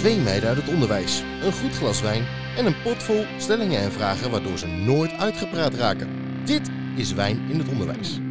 Twee meiden uit het onderwijs, een goed glas wijn en een pot vol stellingen en vragen waardoor ze nooit uitgepraat raken. Dit is Wijn in het Onderwijs.